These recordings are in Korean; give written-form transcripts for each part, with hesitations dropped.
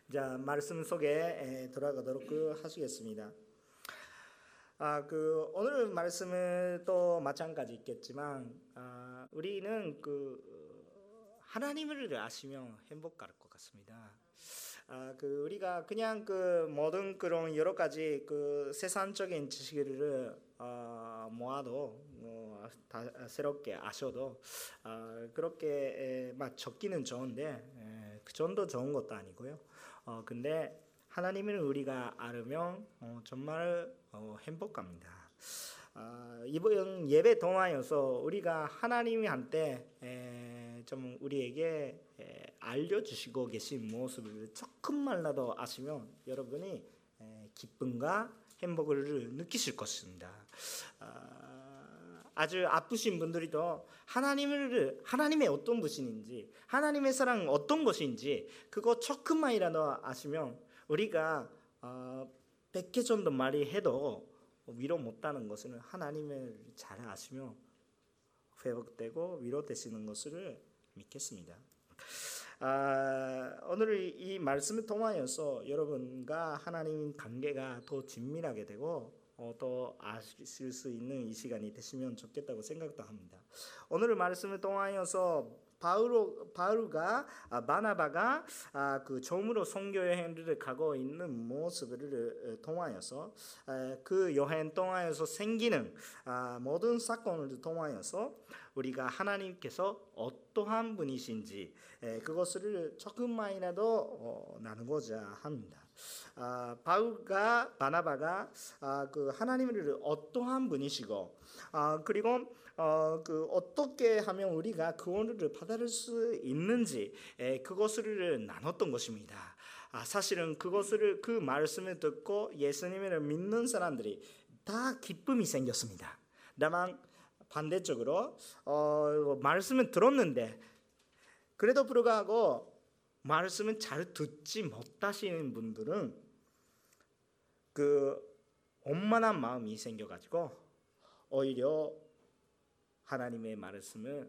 자, 말씀 속에 돌아가도록 하시겠습니다. 오늘 말씀은 또 마찬가지 있겠지만, 우리는 하나님을 아시면 행복할 것 같습니다. 우리가 그냥 모든 그런 여러 가지 세상적인 지식을 모아도 다 새롭게 아셔도 그렇게 적기는 좋은데 그 정도 좋은 것도 아니고요. 근데 하나님을 우리가 알으면 정말 행복합니다. 이번 예배 동안에서 우리가 하나님한테 좀 우리에게 알려주시고 계신 모습을 조금만라도 아시면 여러분이 기쁨과 행복을 느끼실 것입니다. 아주 아프신 분들이도 하나님의 어떤 분인지, 하나님의 사랑은 어떤 것인지 그거 조금만이라도 아시면 우리가 100개 정도 말이 해도 위로 못하는 것은 하나님을 잘 아시며 회복되고 위로되시는 것을 믿겠습니다. 오늘 이 말씀을 통하여서 여러분과 하나님 관계가 더 긴밀하게 되고 또 아실 수 있는 이 시간이 되시면 좋겠다고 생각도 합니다. 오늘 말씀을 통하여서 바울과 바나바가 처음으로 선교 여행을 가고 있는 모습을 통하여서 그 여행 통하여서 생기는 모든 사건을 통하여서 우리가 하나님께서 어떠한 분이신지 그것을 조금만이라도 나누고자 합니다. 바울과 바나바가 하나님을 어떠한 분이시고 그리고 어떻게 하면 우리가 구원을 받을 수 있는지 그것을 나눴던 것입니다. 사실은 그 말씀을 듣고 예수님을 믿는 사람들이 다 기쁨이 생겼습니다. 다만 반대쪽으로 말씀을 들었는데 그래도 불구하고 말씀을 잘 듣지 못하시는 분들은 원만한 마음이 생겨가지고 오히려 하나님의 말씀을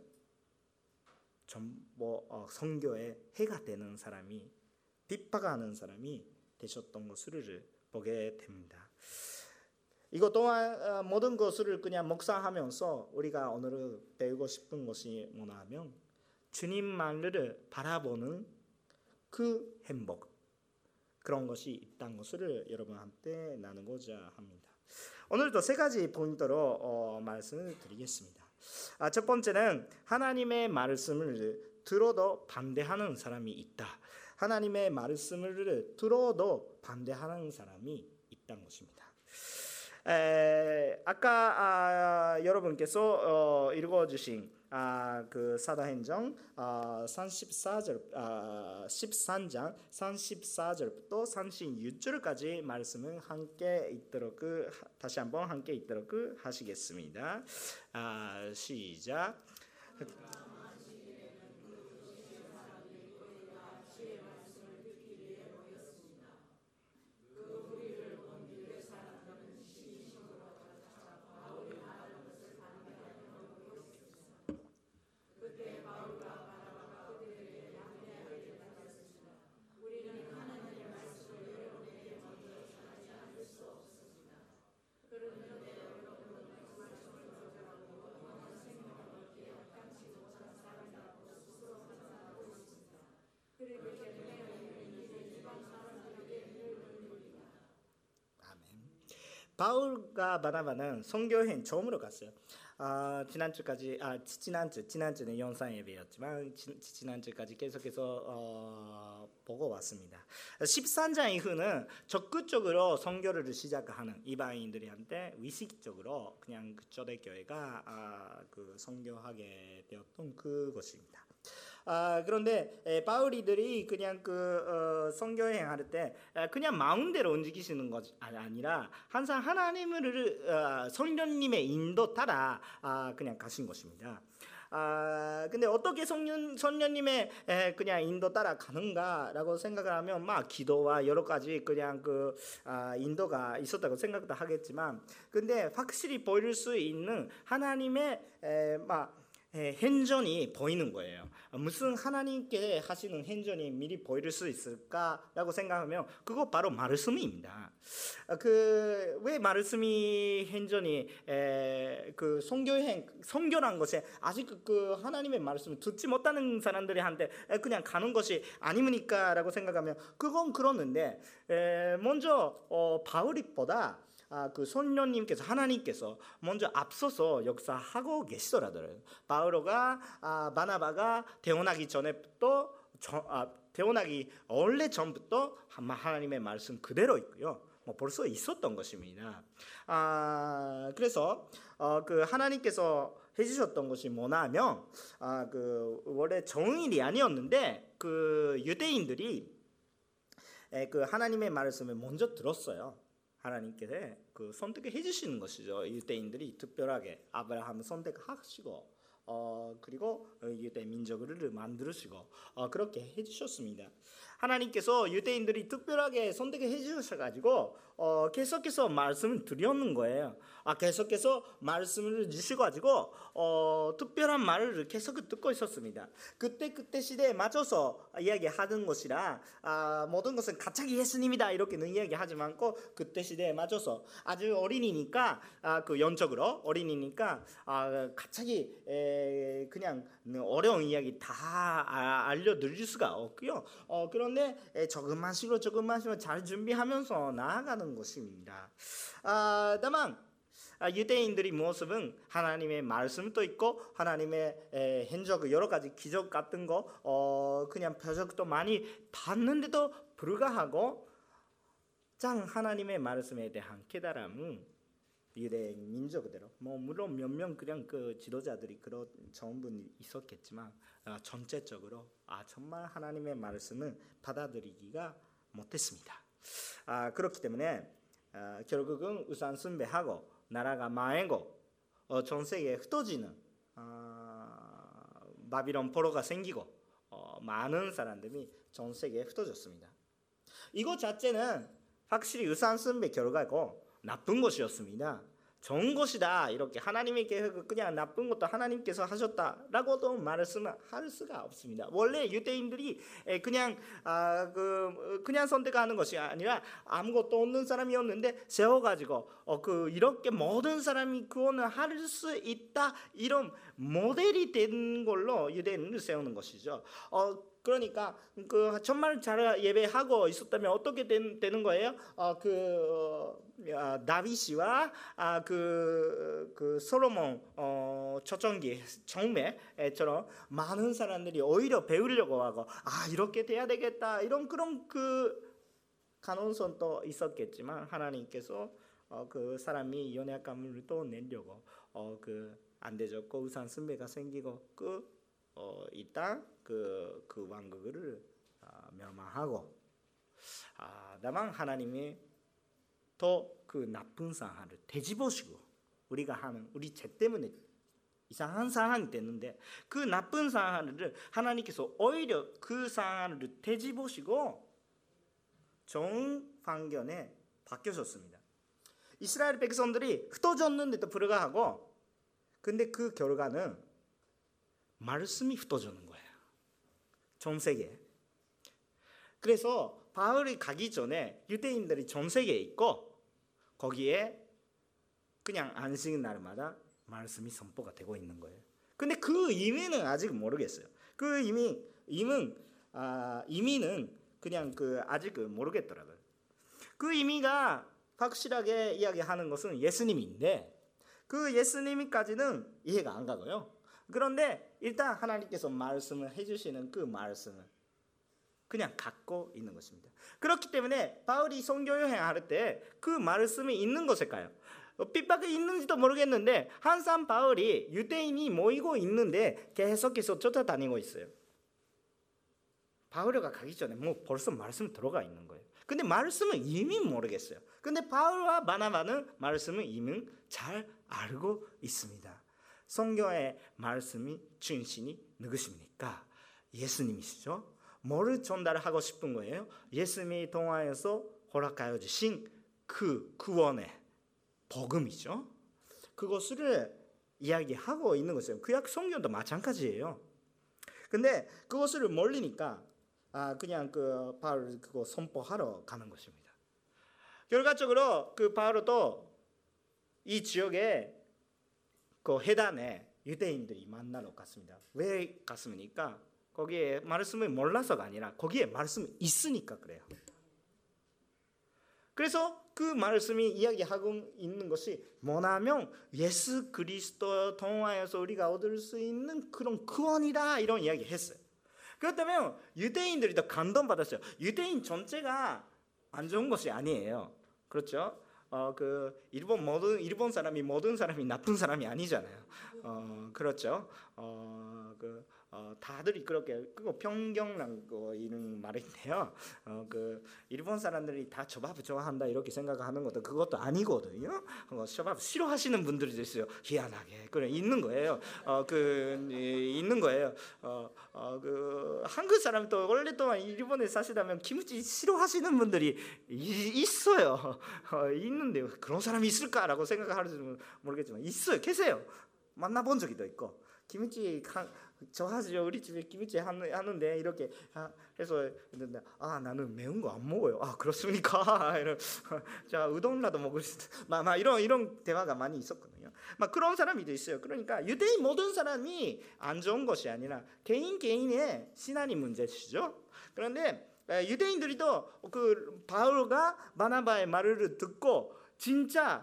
선교에 해가 되는 사람이 핍박하는 사람이 되셨던 것을 보게 됩니다. 이것 또한 모든 것을 그냥 묵상하면서 우리가 오늘 배우고 싶은 것이 뭐냐 하면 주님만을 바라보는 그 행복, 그런 것이 있다는 것을 여러분한테 나누고자 합니다. 오늘도 세 가지 포인트로 말씀을 드리겠습니다. 첫 번째는 하나님의 말씀을 들어도 반대하는 사람이 있다. 하나님의 말씀을 들어도 반대하는 사람이 있다는 것입니다. 아까 여러분께서 읽어주신 사도행전 13장 34절부터 36절까지 말씀은 함께 있도록 다시 한번 함께 있도록 하시겠습니다. 시작. 바울과 바나바는 선교여행 처음으로 갔어요. 지난주는 영상 예배였지만 지난주까지 계속해서 보고 왔습니다. 13장 이후는 적극적으로 선교를 시작하는 이방인들한테 위식적으로 그냥 초대교회가 선교하게 되었던 그것입니다. 그런데 바울이들이 그냥 선교여행 할 때 그냥 마음대로 움직이시는 것이 아니라 항상 하나님을 성령님의 인도 따라 그냥 가신 것입니다. 근데 어떻게 성령님의 그냥 인도 따라 가는가라고 생각을 하면 기도와 여러 가지 그냥 인도가 있었다고 생각도 하겠지만, 근데 확실히 보일 수 있는 하나님의 행전이 보이는 거예요. 무슨 하나님께 하시는 행전이 미리 보일 수 있을까라고 생각하면 그거 바로 말씀입니다. 왜 말씀이 행전이 그 선교란 것에 아직 그 하나님의 말씀을 듣지 못하는 사람들한테 그냥 가는 것이 아닙니까라고 생각하면 그건 그러는데 먼저 바울보다 그 선녀님께서 하나님께서 먼저 앞서서 역사하고 계시더라고요. 바울과 바나바가 태어나기 전에부터 태어나기 원래 전부터 하나님의 말씀 그대로 있고요. 벌써 있었던 것입니다. 그래서 그 하나님께서 해주셨던 것이 뭐냐면 그 원래 정일이 아니었는데 그 유대인들이 그 하나님의 말씀을 먼저 들었어요. 하나님께서 그 선택해 주시는 것이죠. 유대인들이 특별하게 아브라함을 선택하시고 그리고 유대 민족을 만드시고 그렇게 해주셨습니다. 하나님께서 유대인들이 특별하게 선택해 주셔가지고 계속해서 말씀을 드렸는 거예요. 계속해서 말씀을 주셔가지고 특별한 말을 계속 듣고 있었습니다. 그때 시대에 맞춰서 이야기하는 것이라 모든 것은 갑자기 예수님이다 이렇게는 이야기하지 않고 그때 시대에 맞춰서 아주 어린이니까 그 영적으로 어린이니까 갑자기 그냥 어려운 이야기 다 알려드릴 수가 없고요. 그런데 조금만씩으로 잘 준비하면서 나아가는 것입니다. 다만 유대인들의 모습은 하나님의 말씀도 있고 하나님의 행적 여러 가지 기적 같은 거 그냥 표적도 많이 봤는데도 불구하고 장 하나님의 말씀에 대한 깨달음은 유대 민족대로 물론 몇 명 그냥 그 지도자들이 그런 전부 있었겠지만 전체적으로 정말 하나님의 말씀을 받아들이기가 못했습니다. 그렇기 때문에 결국은 우상 숭배하고 나라가 망하고 전 세계에 흩어지는 바빌론 포로가 생기고 많은 사람들이 전 세계에 흩어졌습니다. 이것 자체는 확실히 우상 숭배 결과고 나쁜 것이었습니다. 좋은 것이다 이렇게 하나님께서 그냥 나쁜 것도 하나님께서 하셨다라고도 말씀할 수가 없습니다. 원래 유대인들이 그냥 그냥 선택하는 것이 아니라 아무것도 없는 사람이었는데 세워가지고 이렇게 모든 사람이 구원을 할 수 있다 이런 모델이 된 걸로 유대인을 세우는 것이죠. 그러니까 그 정말 잘 예배하고 있었다면 어떻게 되는 거예요? 다윗이와 그 솔로몬 초창기 정매처럼 많은 사람들이 오히려 배우려고 하고 이렇게 돼야 되겠다 이런 그런 그 가능성도 있었겠지만 하나님께서 그 사람이 연약감을 또 내려고 그 안 되졌고 우상 숭배가 생기고 일단 그 왕국을 멸망하고 다만 하나님이 또 그 나쁜 상황을 되짚으시고 우리가 하는 우리 죄 때문에 이상한 상황이 됐는데 그 나쁜 상황을 하나님께서 오히려 그 상황을 되짚으시고 좋은 방견에 바뀌셨습니다. 이스라엘 백성들이 흩어졌는데도 불구하고 근데 그 결과는 말씀이 흩어지는 거예요. 전 세계에. 그래서 바울이 가기 전에 유대인들이 전 세계에 있고 거기에 그냥 안식 날마다 말씀이 선포가 되고 있는 거예요. 근데 그 의미는 아직 모르겠어요. 그 의미는 그냥 아직 모르겠더라고요. 그 의미가 확실하게 이야기하는 것은 예수님인데 그 예수님까지는 이해가 안 가고요. 그런데 일단 하나님께서 말씀을 해주시는 그 말씀을 그냥 갖고 있는 것입니다. 그렇기 때문에 바울이 선교 여행할 때 그 말씀이 있는 것일까요? 핍박이 있는지도 모르겠는데 항상 바울이 유대인이 모이고 있는데 계속해서 쫓아다니고 있어요. 바울이가 가기 전에 벌써 말씀이 들어가 있는 거예요. 근데 말씀은 이미 모르겠어요. 근데 바울과 바나바는 말씀을 이미 잘 알고 있습니다. 성경의 말씀이 중심이 누구십니까? 예수님이시죠. 뭐를 전달하고 싶은 거예요? 예수님이 통하여서 허락하여 주신 그 구원의 복음이죠. 그것을 이야기하고 있는 것이에요. 구약 성경도 마찬가지예요. 근데 그것을 모르니까 그냥 그 바울 그거 선포하러 가는 것입니다. 결과적으로 그 바울도 이 지역에 그 해단에 유대인들이 만나러 갔습니다. 왜 갔습니까? 거기에 말씀을 몰라서가 아니라 거기에 말씀이 있으니까 그래요. 그래서 그 말씀이 이야기하고 있는 것이 뭐냐면 예수 그리스도 통하여서 우리가 얻을 수 있는 그런 구원이다, 이런 이야기 했어요. 그렇다면 유대인들이 더 감동받았어요. 유대인 전체가 안 좋은 것이 아니에요. 그렇죠? 일본 사람이 모든 사람이 나쁜 사람이 아니잖아요. 그렇죠? 다들이 그렇게 그거 평경란 거 이런 말인데요. 일본 사람들이 다 초밥 좋아한다 이렇게 생각하는 것도 그것도 아니거든요. 초밥 싫어하시는 분들도 있어요. 희한하게 그래 있는 거예요. 있는 거예요. 한국 사람도 오랫동안 일본에 사시다면 김치 싫어하시는 분들이 있어요. 있는데 그런 사람이 있을까라고 생각하는지 모르겠지만 있어요. 계세요. 만나본 적도 있고 김치 좋아하죠. 우리 집에 김치 하는데 이렇게 해서 나는 매운 거 안 먹어요. 그렇습니까? 이런 자 우동이라도 먹을 수 이런 대화가 많이 있었거든요. 그런 사람이 있어요. 그러니까 유대인 모든 사람이 안 좋은 것이 아니라 개인의 신앙이 문제시죠. 그런데 유대인들도 그 바울과 바나바의 말을 듣고 진짜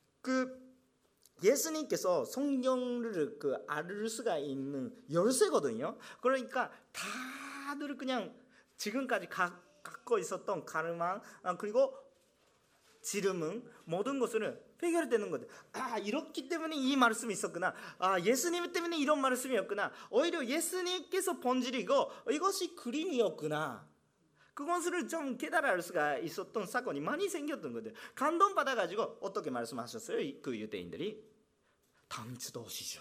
예수님께서 성경을 알 수가 있는 열쇠거든요. 그러니까 다들 그냥 지금까지 갖고 있었던 가르망 그리고 지름은 모든 것을 해결되는 거죠. 이렇기 때문에 이 말씀이 있었구나. 예수님 때문에 이런 말씀이었구나. 오히려 예수님께서 본질이고 이것이 그림이었구나. 그것을 좀 깨달을 수가 있었던 사건이 많이 생겼던 거예요. 감동받아가지고 어떻게 말씀하셨어요? 그 유대인들이 다음 주도 오시죠.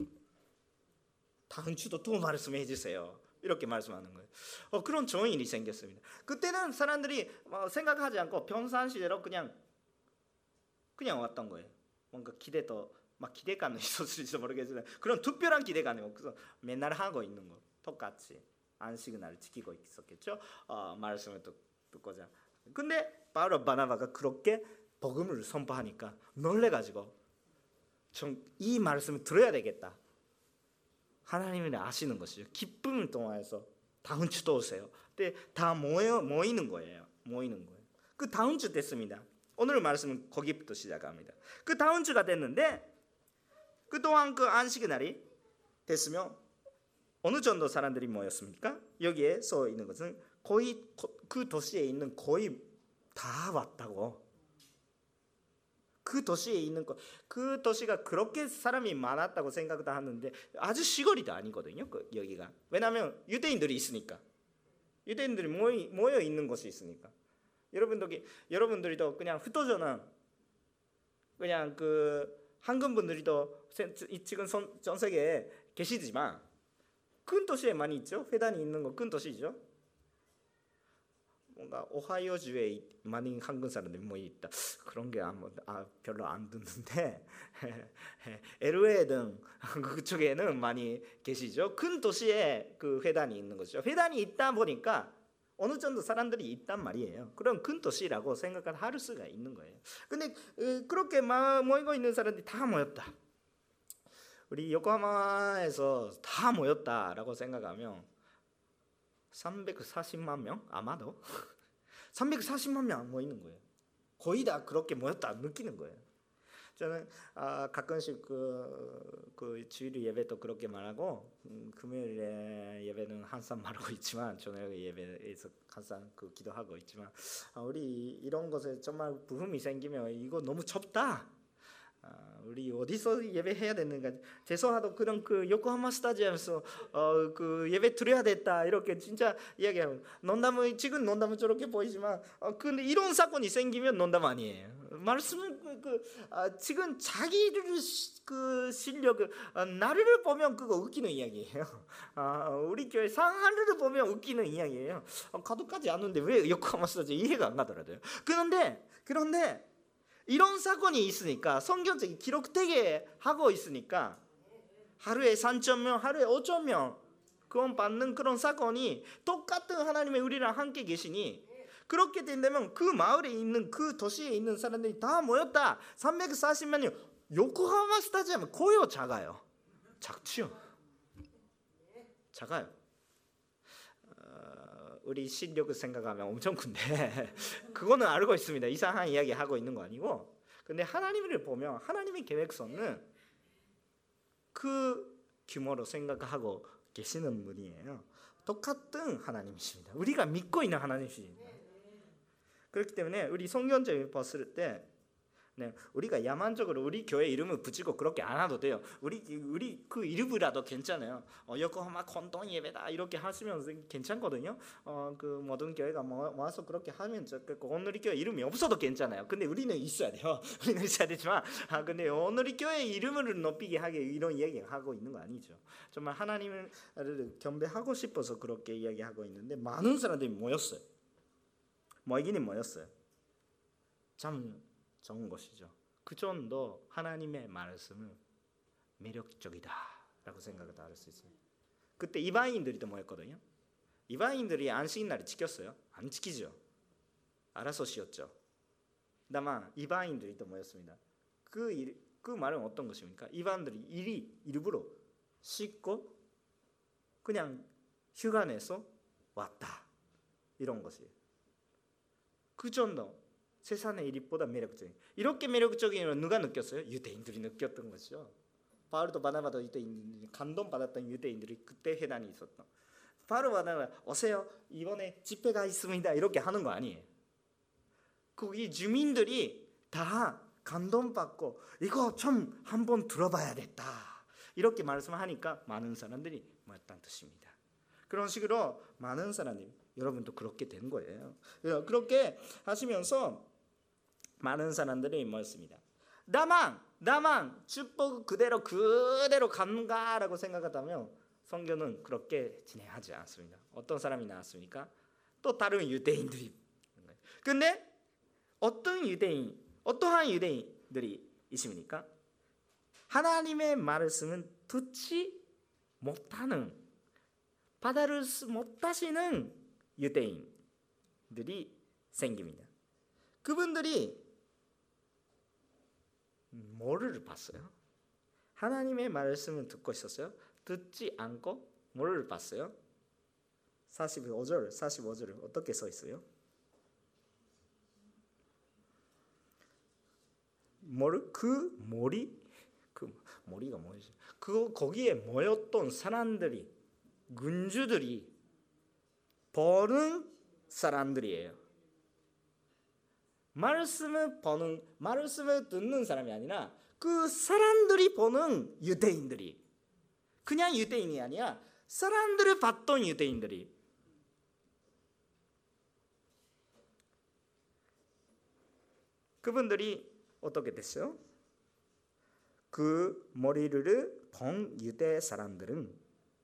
다음 주도 또 말씀해 주세요. 이렇게 말씀하는 거예요. 그런 좋은 일이 생겼습니다. 그때는 사람들이 생각하지 않고 평상시대로 그냥 왔던 거예요. 뭔가 기대감이 있었을지 모르겠지만 그런 특별한 기대감이 없어서 맨날 하고 있는 거 똑같이 안식을 날 지키고 있었겠죠. 말씀을 듣고자. 근데 바울 바나바가 그렇게 복음을 선포하니까 놀래가지고 이 말씀을 들어야 되겠다. 하나님을 아시는 것이죠. 기쁨을 통해서 다음 주도 오세요. 근데 다 모이는 거예요. 그 다음 주 됐습니다. 오늘 말씀은 거기부터 시작합니다. 그 다음 주가 됐는데 그동안 그 안식의 날이 됐으면 어느 정도 사람들이 모였습니까? 여기에 써 있는 것은 거의 그 도시에 있는 거의 다 왔다고. 그 도시에 있는 그 도시가 그렇게 사람이 많았다고 생각도 하는데 아주 시골이도 아니거든요. 여기가. 왜냐하면 유대인들이 있으니까. 유대인들이 모여 있는 곳이 있으니까. 여러분들이도 그냥 흩어져는 그냥 한국 분들이도 지금 전 세계에 계시지만 큰 도시에 많이 있죠. 회단이 있는 거 큰 도시죠. 뭔가 오하이오주에 많은 한국 사람들이 모여 있다. 그런 게 별로 안 듣는데 LA 등 그쪽에는 많이 계시죠. 큰 도시에 그 회단이 있는 거죠. 회단이 있다 보니까 어느 정도 사람들이 있단 말이에요. 그럼 큰 도시라고 생각을 할 수가 있는 거예요. 근데 그렇게 모이고 있는 사람들이 다 모였다. 우리 요코하마에서 다 모였다라고 생각하면 340만 명? 아마도 340만 명 모이는 거예요. 거의 다 그렇게 모였다 느끼는 거예요. 저는 가끔씩 그 주일 예배도 그렇게 말하고 금요일에 예배는 항상 말하고 있지만 저녁 예배에서 항상 기도하고 있지만 우리 이런 것에 정말 부흥이 생기면 이거 너무 좁다. 우리 어디서 예배해야 되는가? 죄송하도 그런 요코하마 스타디움에서 예배 드려야 됐다 이렇게 진짜 이야기하고 지금 농담은 저렇게 보이지만 근데 이런 사건이 생기면 농담 아니에요. 말씀은 지금 자기를 실력 나를 보면 그거 웃기는 이야기예요. 우리 교회 상하를 보면 웃기는 이야기예요. 가도까지 않는데 왜 요코하마 스타디움 이해가 안 가더라고요. 그런데 이런 사건이 있으니까 성경적인 기록되게 하고 있으니까 하루에 3,000명, 하루에 5,000명 구원 받는 그런 사건이 똑같은 하나님의 우리랑 함께 계시니, 그렇게 된다면 그 마을에 있는, 그 도시에 있는 사람들이 다 모였다. 340만 명. 요코하마 스타디움 거의 작아요. 작죠. 작아요. 우리 실력을 생각하면 엄청 큰데 그거는 알고 있습니다. 이상한 이야기 하고 있는 거 아니고. 근데 하나님을 보면 하나님의 계획서는 그 규모로 생각하고 계시는 분이에요. 똑같은 하나님이십니다. 우리가 믿고 있는 하나님이십니다. 그렇기 때문에 우리 성경적으로 봤을 때 우리가 야만적으로 우리 교회 이름을 붙이고 그렇게 안 해도 돼요. 우리 그 이름이라도 괜찮아요. 요코하마 건동 예배다 이렇게 하시면 괜찮거든요. 그 모든 교회가 모아서 그렇게 하면 좋겠고, 오늘의 교회 이름이 없어도 괜찮아요. 근데 우리는 있어야 돼요. 우리는 있어야 되지만, 근데 오늘의 교회 이름을 높이게 하게 이런 이야기 하고 있는 거 아니죠. 정말 하나님을 경배하고 싶어서 그렇게 이야기하고 있는데 많은 사람들이 모였어요. 모이기는 모였어요. 참 좋은 것이죠. 그 정도 하나님의 말씀은 매력적이다라고 생각을 할 수 있어요. 그때 이방인들이 또 모였거든요. 이방인들이 안식일날을 지켰어요? 안 지키죠. 알아서 쉬었죠. 다만 이방인들이 또 모였습니다. 그 말은 어떤 것입니까? 이방인들이 일부러 씻고 그냥 휴가 내서 왔다, 이런 것이에요. 그 정도 세상의 일보다 매력적인, 이렇게 매력적인 걸 누가 느꼈어요? 유대인들이 느꼈던 것이죠. 바울도 바나바도 유대인들이 감동받았던 유대인들이 그때 회당이 있었던. 바울 바나바 오세요, 이번에 집회가 있습니다, 이렇게 하는 거 아니에요. 거기 주민들이 다 감동받고 이거 좀 한번 들어봐야겠다 이렇게 말씀하니까 많은 사람들이 모였다는 뜻입니다. 그런 식으로 많은 사람들이, 여러분도 그렇게 된 거예요. 그렇게 하시면서 많은 사람들이 모였습니다. 다만 축복 그대로 간가라고 생각하다면 성경은 그렇게 진행하지 않습니다. 어떤 사람이 나왔습니까? 또 다른 유대인들이. 근데 어떠한 유대인들이 있습니까? 하나님의 말씀은 듣지 못하는, 받아들일 수 못하시는 유대인들이 생깁니다. 그분들이 뭐를 봤어요? 하나님의 말씀을 듣고 있었어요? 듣지 않고 뭐를 봤어요? 45절 어떻게 써 있어요? 그 머리가 뭐지? 거기에 모였던 사람들이, 군주들이 보는 사람들이에요. 말씀을 듣는 사람이 아니라 그 사람들이 보는 유대인들이, 그냥 유대인이 아니라 사람들을 봤던 유대인들이. 그분들이 어떻게 됐어요? 그 머리를 본 유대 사람들은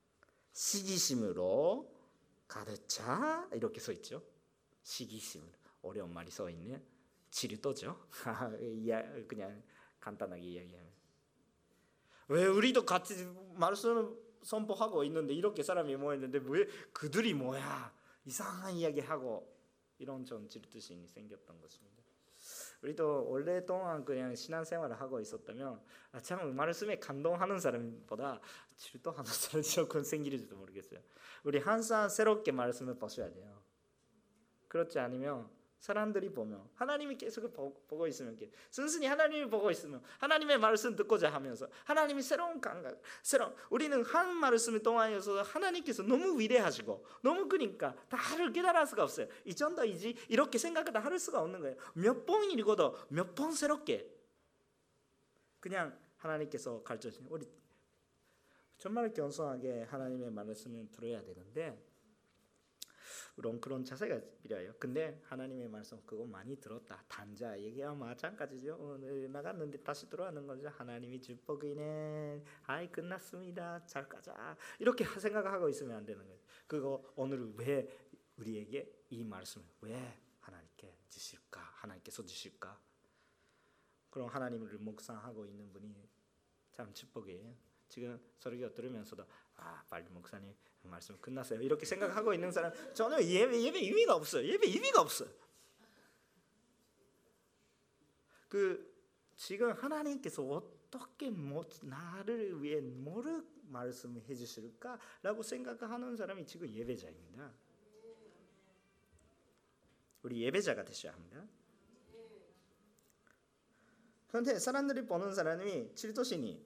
시기심으로 가득 차, 이렇게 써 있죠. 시기심으로. 어려운 말이 써 있네. 질도죠. 그냥 간단하게 이야기하면. 왜 우리도 같이 말씀 선포하고 있는데 이렇게 사람이 모였는데 왜 그들이 뭐야, 이상한 이야기하고, 이런 좀 질투심이 생겼던 것입니다. 우리도 오랫동안 그냥 신앙생활을 하고 있었다면 참 말씀에 감동하는 사람보다 질투하는 사람이 조금 생길지도 모르겠어요. 우리 항상 새롭게 말씀을 보셔야 돼요. 그렇지 않으면 사람들이 보면, 하나님이 계속 보고 있으면, 순순히 하나님이 보고 있으면 하나님의 말씀 듣고자 하면서 하나님이 새로운 감각, 우리는 한 말씀을 통하여서 하나님께서 너무 위대하시고 너무 크니까 다를 깨달을 수가 없어요. 이 정도이지 이렇게 생각을 할 수가 없는 거예요. 몇 번 읽어도 몇 번 새롭게 그냥 하나님께서 가르쳐주시는, 우리 정말 겸손하게 하나님의 말씀을 들어야 되는데 그런 자세가 필요해요. 근데 하나님의 말씀 그거 많이 들었다, 단자 얘기야 마찬가지죠. 나갔는데 다시 들어가는 거죠. 하나님이 축복이네, 아이 끝났습니다, 잘 가자, 이렇게 생각하고 있으면 안 되는 거예요. 그거 오늘 왜 우리에게 이 말씀을 왜 하나님께서 주실까? 그럼 하나님을 묵상하고 있는 분이 참 축복이에요. 지금 설교 들으면서도 빨리 목사님 말씀 끝났어요 이렇게 생각하고 있는 사람 전혀 예배 의미가 없어요. 예배 의미가 없어요. 지금 하나님께서 어떻게 나를 위해 뭐를 말씀해 주실까라고 생각하는 사람이 지금 예배자입니다. 우리 예배자가 되셔야 합니다. 그런데 사람들이 보는 사람이 질투심이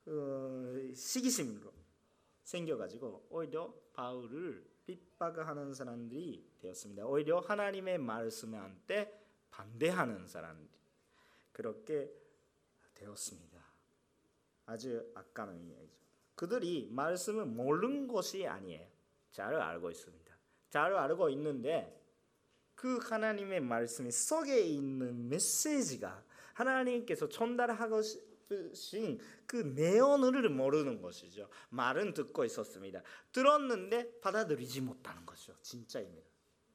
시기심으로 생겨가지고 오히려 바울을 핍박하는 사람들이 되었습니다. 오히려 하나님의 말씀한테 반대하는 사람들이 그렇게 되었습니다. 아주 악한 이야기죠. 그들이 말씀을 모르는 것이 아니에요. 잘 알고 있습니다. 잘 알고 있는데 그 하나님의 말씀 속에 있는 메시지가 하나님께서 전달하고 싶으신 그 내용을 모르는 것이죠. 말은 듣고 있었습니다. 들었는데 받아들이지 못하는 것이죠. 진짜입니다.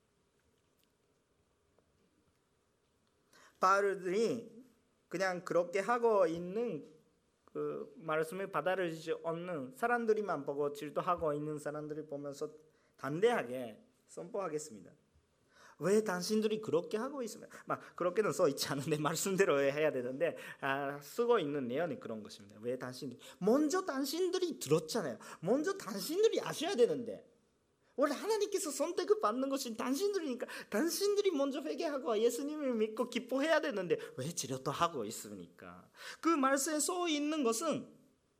바울들이 그냥 그렇게 하고 있는 그 말씀을 받아들이지 않는 사람들이만 보고 질투하고 있는 사람들을 보면서 담대하게 선포하겠습니다. 왜 당신들이 그렇게 하고 있습니까? 그렇게는 써 있지 않은데 말씀대로 해야 되는데 쓰고 있는 내용이 그런 것입니다. 왜 먼저 당신들이 들었잖아요. 먼저 당신들이 아셔야 되는데 원래 하나님께서 선택을 받는 것이 당신들이니까 당신들이 먼저 회개하고 예수님을 믿고 기뻐해야 되는데 왜 질투하고 있습니까? 그 말씀에 써 있는 것은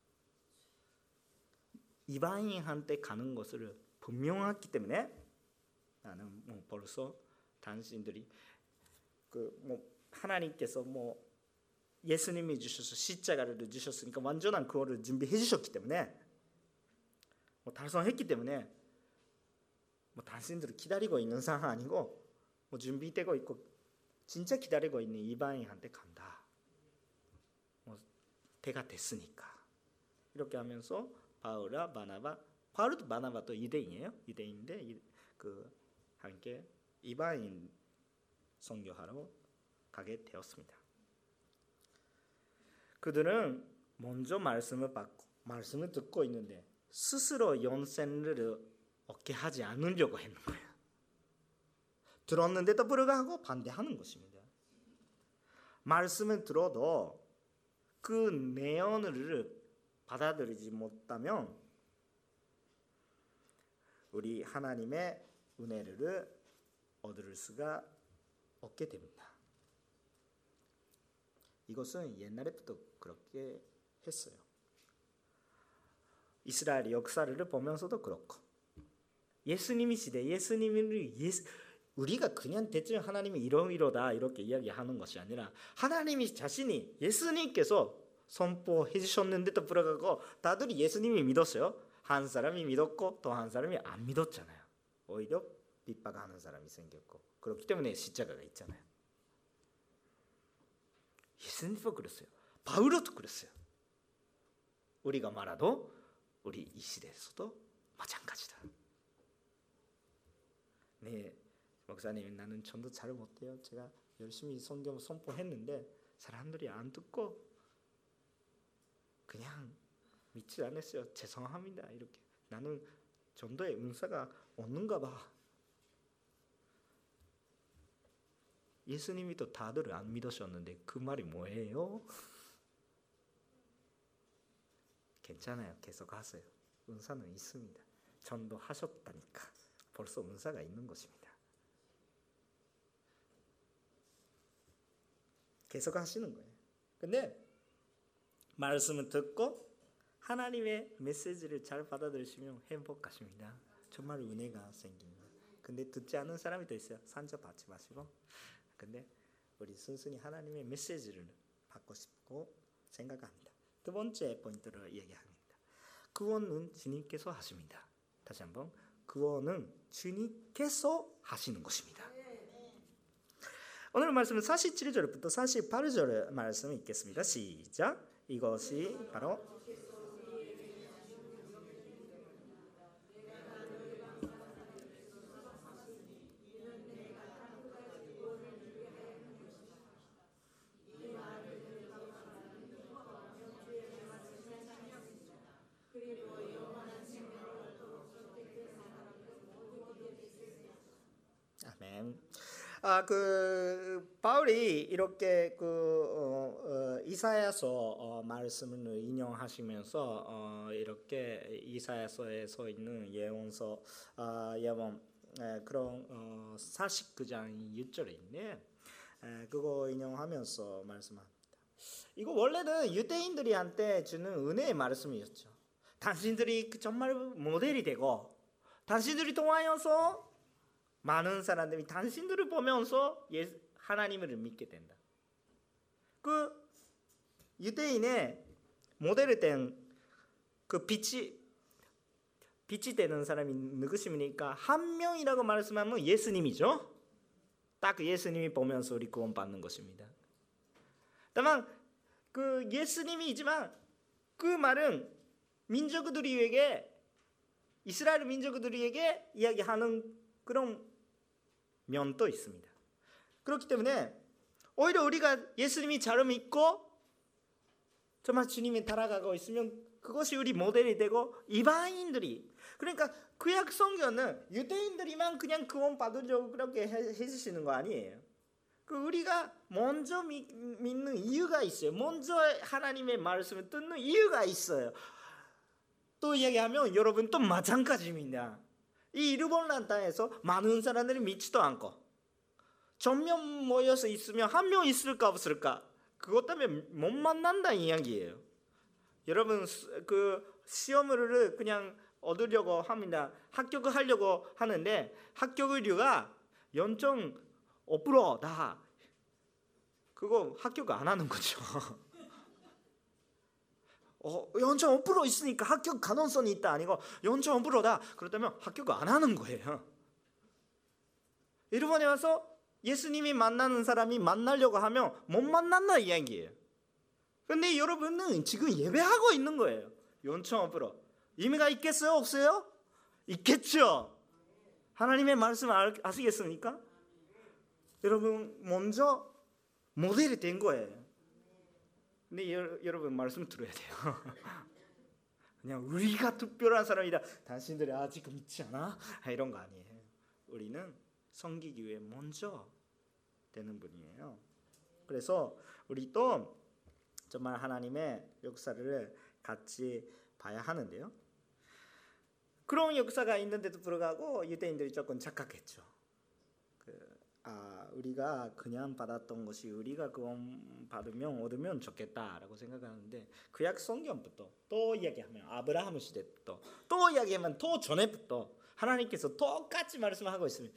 이방인한테 가는 것을 분명하기 때문에 나는 벌써 당신들이 하나님께서 예수님이 주셔서 십자가를 주셨으니까 완전한 그거를 준비해 주셨기 때문에 달성했기 때문에 당신들을 기다리고 있는 상황 아니고 준비되고 있고 진짜 기다리고 있는 이방인한테 간다. 때가 됐으니까 이렇게 하면서 바울과 바나바, 바울도 바나바도 유대인이에요. 유대인인데 함께 이방인 선교하러 가게 되었습니다. 그들은 먼저 말씀을 받고 말씀을 듣고 있는데 스스로 영생을 얻게 하지 않으려고 했는 거예요. 들었는데도 불구하고 반대하는 것입니다. 말씀을 들어도 그 내용을 받아들이지 못하면 우리 하나님의 은혜를 얻을 수가 없게 됩니다. 이것은 옛날부터 그렇게 했어요. 이스라엘 역사를 보면서도 그렇고 예수님이 시대 우리가 그냥 대충 하나님이 이러이러다 이렇게 이야기하는 것이 아니라 하나님이 자신이 예수님께서 선포해 주셨는데도 불구하고 다들 예수님이 믿었어요. 한 사람이 믿었고 또 한 사람이 안 믿었잖아요. 오히려 핍박하는 사람이 생겼고 그렇기 때문에 십자가가 있잖아요. 예수님도 그랬어요. 바울도 그랬어요. 우리가 말아도 우리 이 시대에서도 마찬가지다. 네, 목사님 나는 전도 잘 못해요. 제가 열심히 성경 선포했는데 사람들이 안 듣고 그냥 믿지 않았어요. 죄송합니다. 이렇게 나는 전도의 은사가 없는가 봐. 예수님이 또 다들 안 믿으셨는데 그 말이 뭐예요? 괜찮아요. 계속 하세요. 은사는 있습니다. 전도하셨다니까 벌써 은사가 있는 것입니다. 계속 하시는 거예요. 근데 말씀을 듣고 하나님의 메시지를 잘 받아들이시면 행복하십니다. 정말 은혜가 생깁니다. 근데 듣지 않는 사람이 더 있어요. 상처받지 마시고. 근데 우리 순순히 하나님의 메시지를 받고 싶고 생각합니다. 두 번째 포인트를 얘기합니다. 구원은 주님께서 하십니다. 다시 한번 구원은 주님께서 하시는 것입니다. 오늘 말씀은 47절부터 48절 말씀 읽겠습니다. 시작. 이것이 바로 바울이 이렇게 이사야서 말씀을 인용하시면서 이렇게 이사야서에 서 있는 예언서 예언 그런 49장 6절에 그거 인용하면서 말씀합니다. 이거 원래는 유대인들이한테 주는 은혜의 말씀이었죠. 당신들이 정말 모델이 되고 당신들이 통하여서 많은 사람들이 당신들을 보면서 하나님을 믿게 된다. 그 유대인의 모델이 된 그 빛이 되는 사람이 누구십니까? 한 명이라고 말씀하면 예수님이죠. 딱 예수님이 보면서 우리 구원 받는 것입니다. 다만 그 예수님이지만 그 말은 민족들에게 이스라엘 민족들에게 이야기하는 그런 면도 있습니다. 그렇기 때문에 오히려 우리가 예수님이 잘 믿고 정말 주님이 따라가고 있으면 그것이 우리 모델이 되고 이방인들이 그러니까 구약 성경은 유대인들이만 그냥 구원 받으려고 그렇게 해주시는 거 아니에요. 우리가 먼저 믿는 이유가 있어요. 먼저 하나님의 말씀을 듣는 이유가 있어요. 또 이야기하면 여러분 또 마찬가지입니다. 이 일본란 땅에서 많은 사람들이 믿지도 않고 전면 모여서 있으면 한 명 있을까 없을까 그것 때문에 못 만난다는 이야기예요. 여러분 그 시험을 그냥 얻으려고 합니다. 합격을 하려고 하는데 합격률이 0.5%다. 그거 합격 안 하는 거죠. 0.5% 있으니까 합격 가능성이 있다 아니고 0.5%다. 그렇다면 합격 안 하는 거예요. 일본에 와서 예수님이 만나는 사람이 만나려고 하면 못 만난다 이야기예요. 근데 여러분은 지금 예배하고 있는 거예요. 0.5% 의미가 있겠어요? 없어요? 있겠죠. 하나님의 말씀 아시겠습니까? 여러분 먼저 모델이 된 거예요. 근데 여러분 말씀 들어야 돼요. 그냥 우리가 특별한 사람이다. 당신들이 아직 믿지 않아? 이런 거 아니에요. 우리는 섬기기 위해 먼저 되는 분이에요. 그래서 우리도 정말 하나님의 역사를 같이 봐야 하는데요. 그런 역사가 있는데도 불구하고 유대인들이 조금 착각했죠. 우리가 그냥 받았던 것이 우리가 구원 얻으면 좋겠다라고 생각하는데 구약 성경부터 또 이야기하면 아브라함 시대부터 또 이야기하면 또 전에부터 하나님께서 똑같이 말씀하고 있습니다.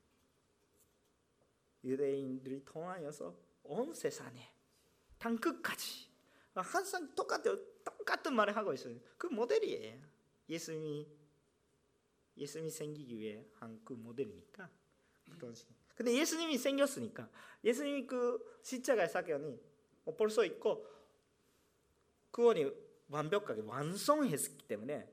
유대인들이 통하여서 온 세상에 땅 끝까지 항상 똑같은 말을 하고 있어요. 그 모델이에요. 예수님이 생기기 위해 한 그 모델이니까 그런 식으로. 근데 예수님이 생겼으니까 예수님이 그 십자가의 사건이 벌써 있고 구원이 완벽하게 완성했기 때문에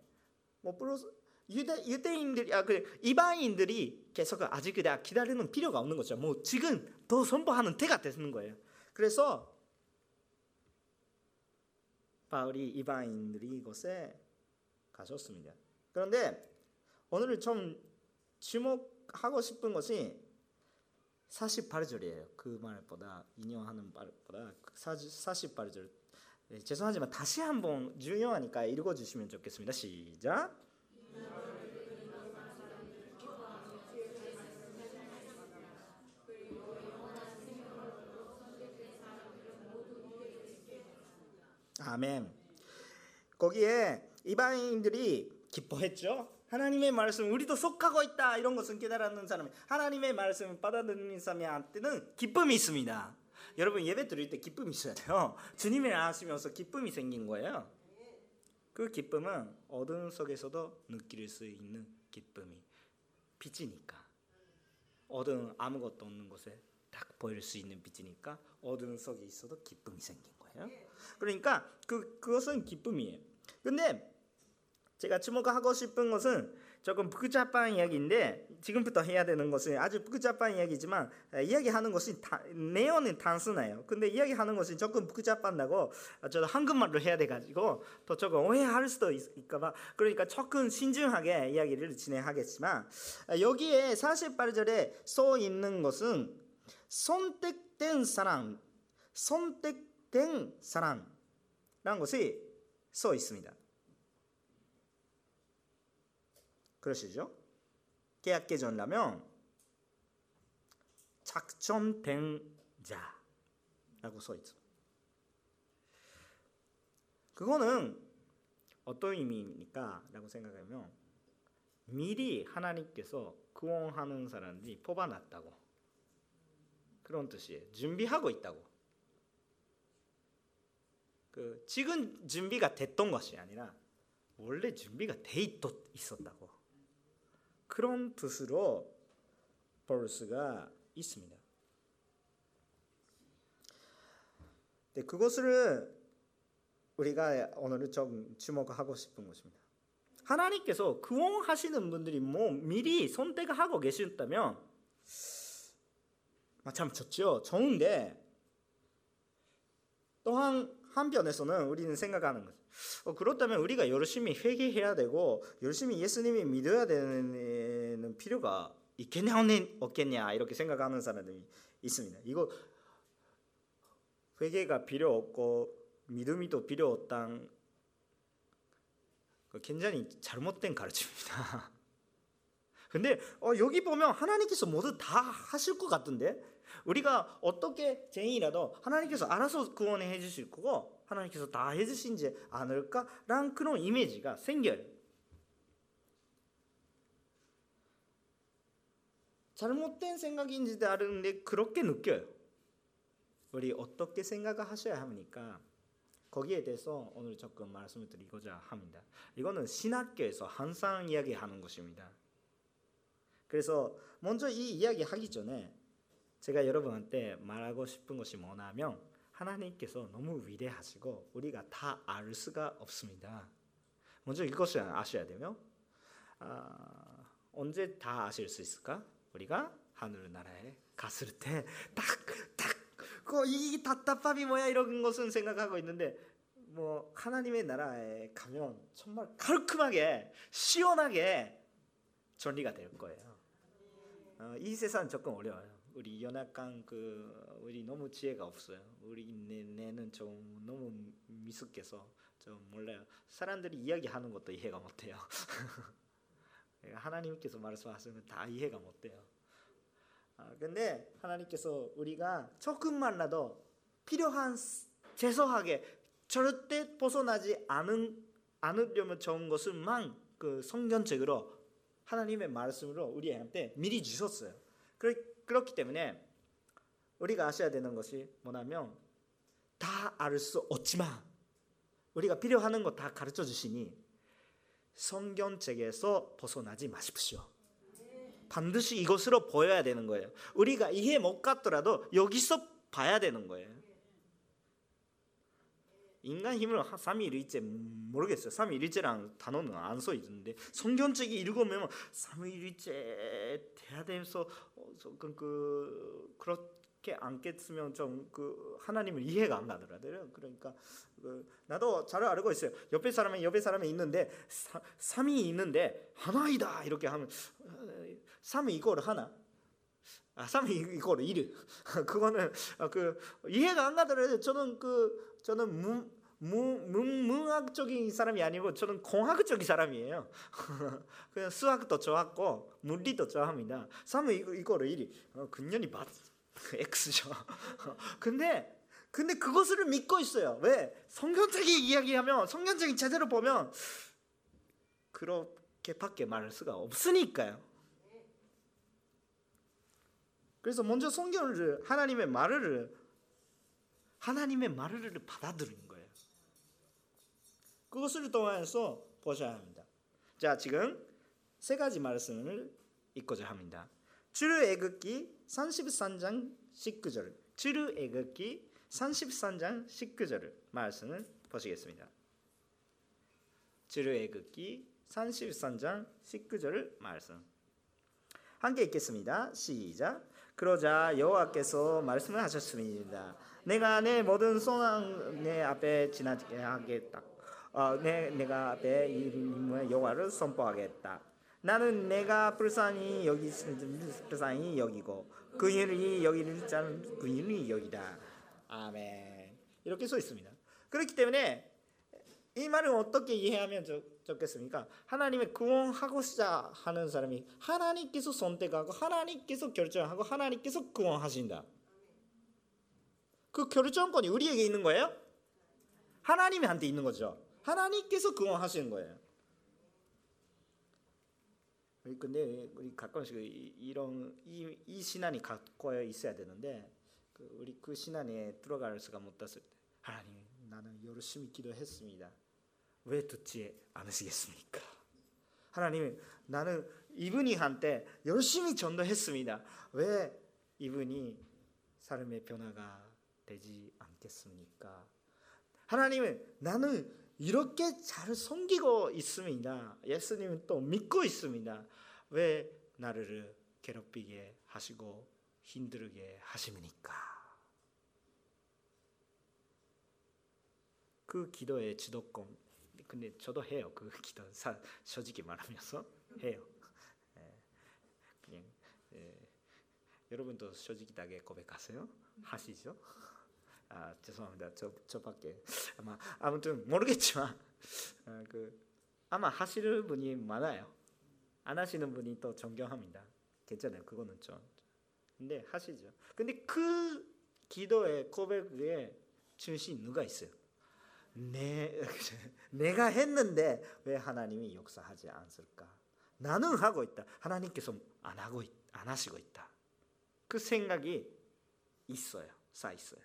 유대인들이 이방인들이 계속 아직 기다리는 필요가 없는 거죠. 지금 더 선포하는 때가 되는 거예요. 그래서 바울이 이방인들이 이곳에 가셨습니다. 그런데 오늘 좀 주목하고 싶은 것이 48절이에요. 그 말보다 인용하는 말보다 48절. 죄송하지만 다시 한번 중요하니까 읽어주시면 좋겠습니다. 시작. 아멘. 거기에 이방인들이 기뻐했죠. 하나님의 말씀 우리도 속하고 있다 이런 것은 깨달았는 사람이 하나님의 말씀을 받아들이는 사람한테는 기쁨이 있습니다. 여러분 예배 드릴 때 기쁨이 있어야 돼요. 주님을 아시면서 기쁨이 생긴 거예요. 그 기쁨은 어둠 속에서도 느낄 수 있는 기쁨이 빛이니까 어둠 아무것도 없는 곳에 딱 보일 수 있는 빛이니까 어둠 속에 있어도 기쁨이 생긴 거예요. 그러니까 그것은 기쁨이에요. 근데 제가 주목하고 싶은 것은 조금 복잡한 이야기인데 지금부터 해야 되는 것은 아주 복잡한 이야기지만 이야기하는 것이 내용은 단순해요. 근데 이야기하는 것이 조금 복잡한다고 저도 한국말로 해야 돼가지고 또 조금 오해할 수도 있을까봐 그러니까 조금 신중하게 이야기를 진행하겠지만 여기에 48절에 써 있는 것은 선택된 사람, 선택된 사람라는 것이 써 있습니다. 그러시죠? 계약 개정이라면 작정된 자라고 써 있죠. 그거는 어떤 의미입니까? 라고 생각하면 미리 하나님께서 구원하는 사람들이 뽑아놨다고, 그런 뜻이에요. 준비하고 있다고. 지금 준비가 됐던 것이 아니라 원래 준비가 돼 있었다고, 그런 뜻으로 버스가 있습니다. 네, 그것을 우리가 오늘 좀 주목하고 싶은 것입니다. 하나님께서 구원하시는 분들이 미리 선택하고 계셨다면 참 좋죠. 좋은데 또한 한편에서는 우리는 생각하는 거죠. 그렇다면 우리가 열심히 회개해야 되고 열심히 예수님이 믿어야 되는 필요가 있겠냐 없겠냐 이렇게 생각하는 사람들이 있습니다. 이거 회개가 필요 없고 믿음이도 필요 없단 굉장히 잘못된 가르침입니다. 근데 여기 보면 하나님께서 모두 다 하실 것 같은데, 우리가 어떻게 죄인이라도 하나님께서 알아서 구원해 주실 거고 하나님께서 다 해주시지 않을까라는 그런 이미지가 생겨요. 잘못된 생각인지 다른데 그렇게 느껴요. 우리 어떻게 생각하셔야 합니까? 거기에 대해서 오늘 조금 말씀을 드리고자 합니다. 이거는 신학교에서 항상 이야기하는 것입니다. 그래서 먼저 이 이야기 하기 전에 제가 여러분한테 말하고 싶은 것이 뭐냐면, 하나님께서 너무 위대하시고 우리가 다 알 수가 없습니다. 먼저 이것을 아셔야 되며, 언제 다 아실 수 있을까? 우리가 하늘나라에 갔을 때 딱 이 답답함이 뭐야 이런 것은 생각하고 있는데, 하나님의 나라에 가면 정말 깔끔하게 시원하게 정리가 될 거예요. 이 세상은 조금 어려워요. 우리 연약한 우리 너무 지혜가 없어요. 우리 내는 좀 너무 미숙해서 좀 몰라요. 사람들이 이야기하는 것도 이해가 못해요. 하나님께서 말씀하시는 다 이해가 못돼요. 근데 하나님께서 우리가 조금만라도 필요한 최소하게 절대 벗어나지 않으려면 좋은 것을만 성경책으로 하나님의 말씀으로 우리한테 미리 주셨어요. 그렇기 때문에 우리가 아셔야 되는 것이 뭐냐면, 다 알 수 없지만 우리가 필요한 거 다 가르쳐 주시니 성경책에서 벗어나지 마십시오. 반드시 이것으로 보여야 되는 거예요. 우리가 이해 못 갔더라도 여기서 봐야 되는 거예요. 인간 힘을 삼위일체 모르겠어요. 삼위일체라는 단어는 안 써 있는데 성경책이 읽으면 삼위일체 돼야 돼서 그렇게 않겠으면 좀 하나님을 이해가 안 가더라고요. 그러니까 나도 잘 알고 있어요. 옆에 사람이 있는데 삼이 있는데 하나이다 이렇게 하면 3 이거를 하나, 3 이거를 1. 그거는 이해가 안 가더라도 저는 문학적인 사람이 아니고 저는 공학적인 사람이에요. 그냥 수학도 좋았고 물리도 좋아합니다. 3 이거를 1. 근연이 맞 X죠. 근데 그것을 믿고 있어요. 왜? 성경책이 이야기하면, 성경책이 제대로 보면 그렇게밖에 말할 수가 없으니까요. 그래서 먼저 성경을, 하나님의 말을 받아들이는 거예요. 그것을 통해서 보셔야 합니다. 자, 지금 세 가지 말씀을 읽고자 합니다. 출애굽기 33장 19절, 출애굽기 33장 19절 말씀을 보시겠습니다. 출애굽기 33장 19절 말씀 함께 읽겠습니다. 시작. 그러자 여호와께서 말씀을 하셨습니다. 내가 내 모든 소망 내 앞에 지나게 하겠다. 내가 앞에 이름의 여호와를 선포하겠다. 나는 내가 불쌍히 여기고 긍휼히 여기는 자는 긍휼히 여기다. 아멘. 이렇게 써 있습니다. 그렇기 때문에 이 말을 어떻게 이해하면 좋겠습니까? 하나님의 구원하고자 하는 사람이 하나님께서 선택하고 하나님께서 결정하고 하나님께서 구원하신다. 그 결정권이 우리에게 있는 거예요? 하나님한테 있는 거죠. 하나님께서 구원하시는 거예요. 근데 우리 가끔씩 이런 이 신앙이 갖고 있어야 되는데 우리 그 신앙에 들어갈 수가 못 탔을 때 하나님 나는 열심히 기도했습니다. 왜 듣지 않으시겠습니까? 하나님 나는 이분이 한테 열심히 전도했습니다. 왜 이분이 삶의 변화가 되지 않겠습니까? 하나님은 나는 이렇게 잘 섬기고 있습니다. 예수님은 또 믿고 있습니다. 왜 나를 괴롭히게 하시고 힘들게 하십니까? 그 기도의 주도권. 근데 저도 해요. 그 기도 솔직히 말하면서 해요. 그냥 여러분도 솔직하게 고백하세요? 하시죠? 죄송합니다. 저밖에 아무튼 모르겠지만 아마 하시는 분이 많아요. 안 하시는 분이 또 존경합니다. 괜찮아요. 그거는 좀. 근데 하시죠. 근데 그 기도의 고백에 중심 누가 있어요? 내가 했는데 왜 하나님이 역사하지 않을까? 나는 하고 있다. 하나님께서 안 하시고 있다. 그 생각이 있어요. 쌓여 있어요.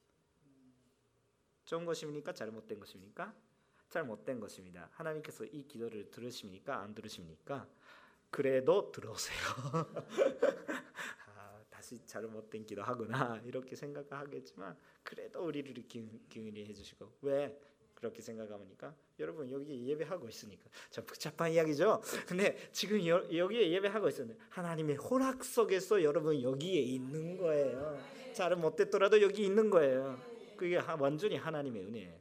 좋은 것입니까? 잘못된 것입니까? 잘못된 것입니다. 하나님께서 이 기도를 들으십니까? 안 들으십니까? 그래도 들으세요. 다시 잘못된 기도하구나 이렇게 생각하겠지만 그래도 우리를 긍휼히 해주시고 왜 그렇게 생각합니까? 여러분 여기 예배하고 있으니까 참 복잡한 이야기죠. 근데 지금 여기에 예배하고 있었는데 하나님의 허락 속에서 여러분 여기에 있는 거예요. 잘 못됐더라도 여기 있는 거예요. 그게 완전히 하나님의 은혜예요.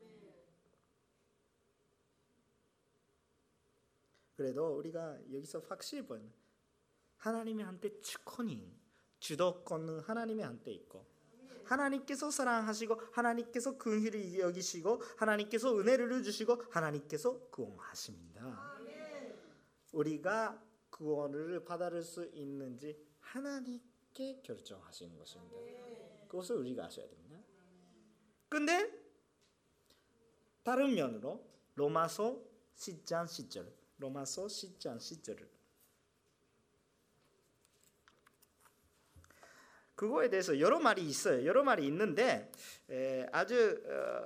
그래도 우리가 여기서 확실히 보면 하나님의 한테 주도권은 하나님의 한테 있고 하나님께서 사랑하시고 하나님께서 긍휼히 여기시고 하나님께서 은혜를 주시고 하나님께서 구원하십니다. 우리가 구원을 받을 수 있는지 하나님께 결정하시는 것입니다. 그것을 우리가 아셔야 됩니다. 근데 다른 면으로 로마서 10장 10절을 그거에 대해서 여러 말이 있어요. 여러 말이 있는데 아주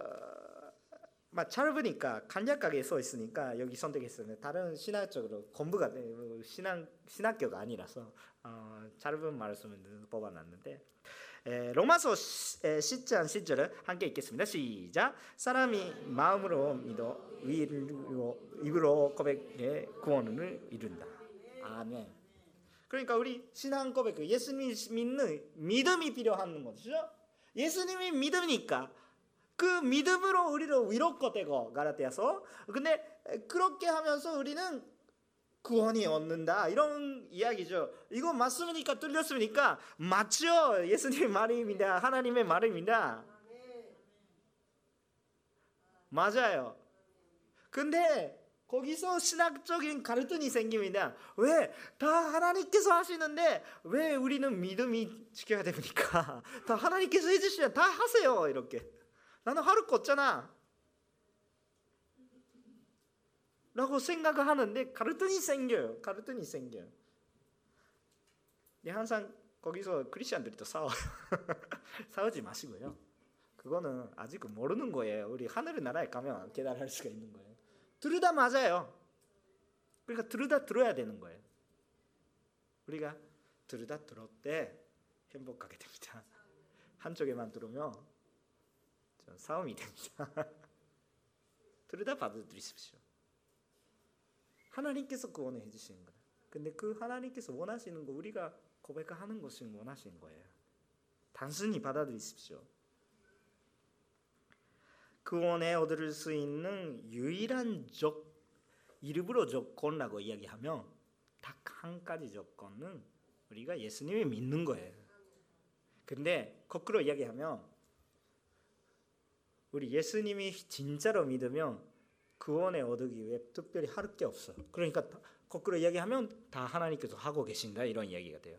짧으니까 간략하게 써 있으니까 여기 선택했어요. 다른 신학적으로 공부가 신학교가 아니라서 짧은 말씀을 뽑아놨는데 로마서 10장 10절을 함께 읽겠습니다. 시작. 사람이 마음으로 믿어 입으로 고백해 구원을 이룬다. 아멘. 그러니까 우리 신앙 고백, 예수님 믿는 믿음이 필요한 거죠. 예수님이 믿으니까 그 믿음으로 우리를 위로가 되고 갈라디아서. 근데 그렇게 하면서 우리는 구원이 얻는다 이런 이야기죠. 이거 맞습니까? 틀렸습니까? 맞죠. 예수님의 말입니다. 하나님의 말입니다. 맞아요. 근데 거기서 신학적인 갈등이 생깁니다. 왜? 다 하나님께서 하시는데 왜 우리는 믿음이 지켜야 됩니까? 다 하나님께서 해주시면 다 하세요. 이렇게. 나는 할 거 없잖아. 라고 생각을 하는데 갈등이 생겨요. 항상 거기서 크리스천들이 또 싸워요. 싸우지 마시고요. 그거는 아직 모르는 거예요. 우리 하늘의 나라에 가면 깨달을 수가 있는 거예요. 들으다 맞아요. 그러니까 들어야 되는 거예요. 우리가 들을 때 행복하게 됩니다. 한쪽에만 들으면 싸움이 됩니다. 들으다 받아들이십시오. 하나님께서 구원을 해주시는 거다. 근데 그 하나님께서 원하시는 거 우리가 고백하는 것을 원하시는 거예요. 단순히 받아들이십시오. 구원에 얻을 수 있는 유일한 일부러 조건이라고 이야기하면 딱 한 가지 조건은 우리가 예수님을 믿는 거예요. 근데 거꾸로 이야기하면 우리 예수님이 진짜로 믿으면 구원에 얻기 위해 특별히 할 게 없어. 그러니까 거꾸로 이야기하면 다 하나님께서 하고 계신다 이런 이야기가 돼요.